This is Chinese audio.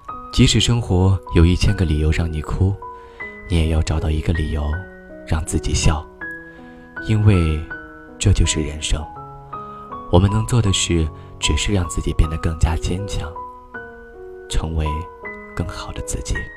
即使生活有1000个理由让你哭，你也要找到一个理由让自己笑，因为这就是人生。我们能做的事，只是让自己变得更加坚强，成为更好的自己。